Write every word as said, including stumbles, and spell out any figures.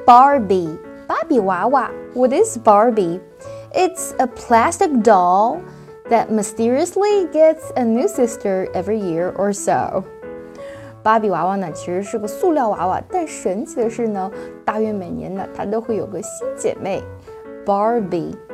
Barbie 芭比娃娃 What is Barbie? It's a plastic doll that mysteriously gets a new sister every year or so. 芭比娃娃呢其实是个塑料娃娃，但神奇的是呢，大约每年呢它都会有个新姐妹 Barbie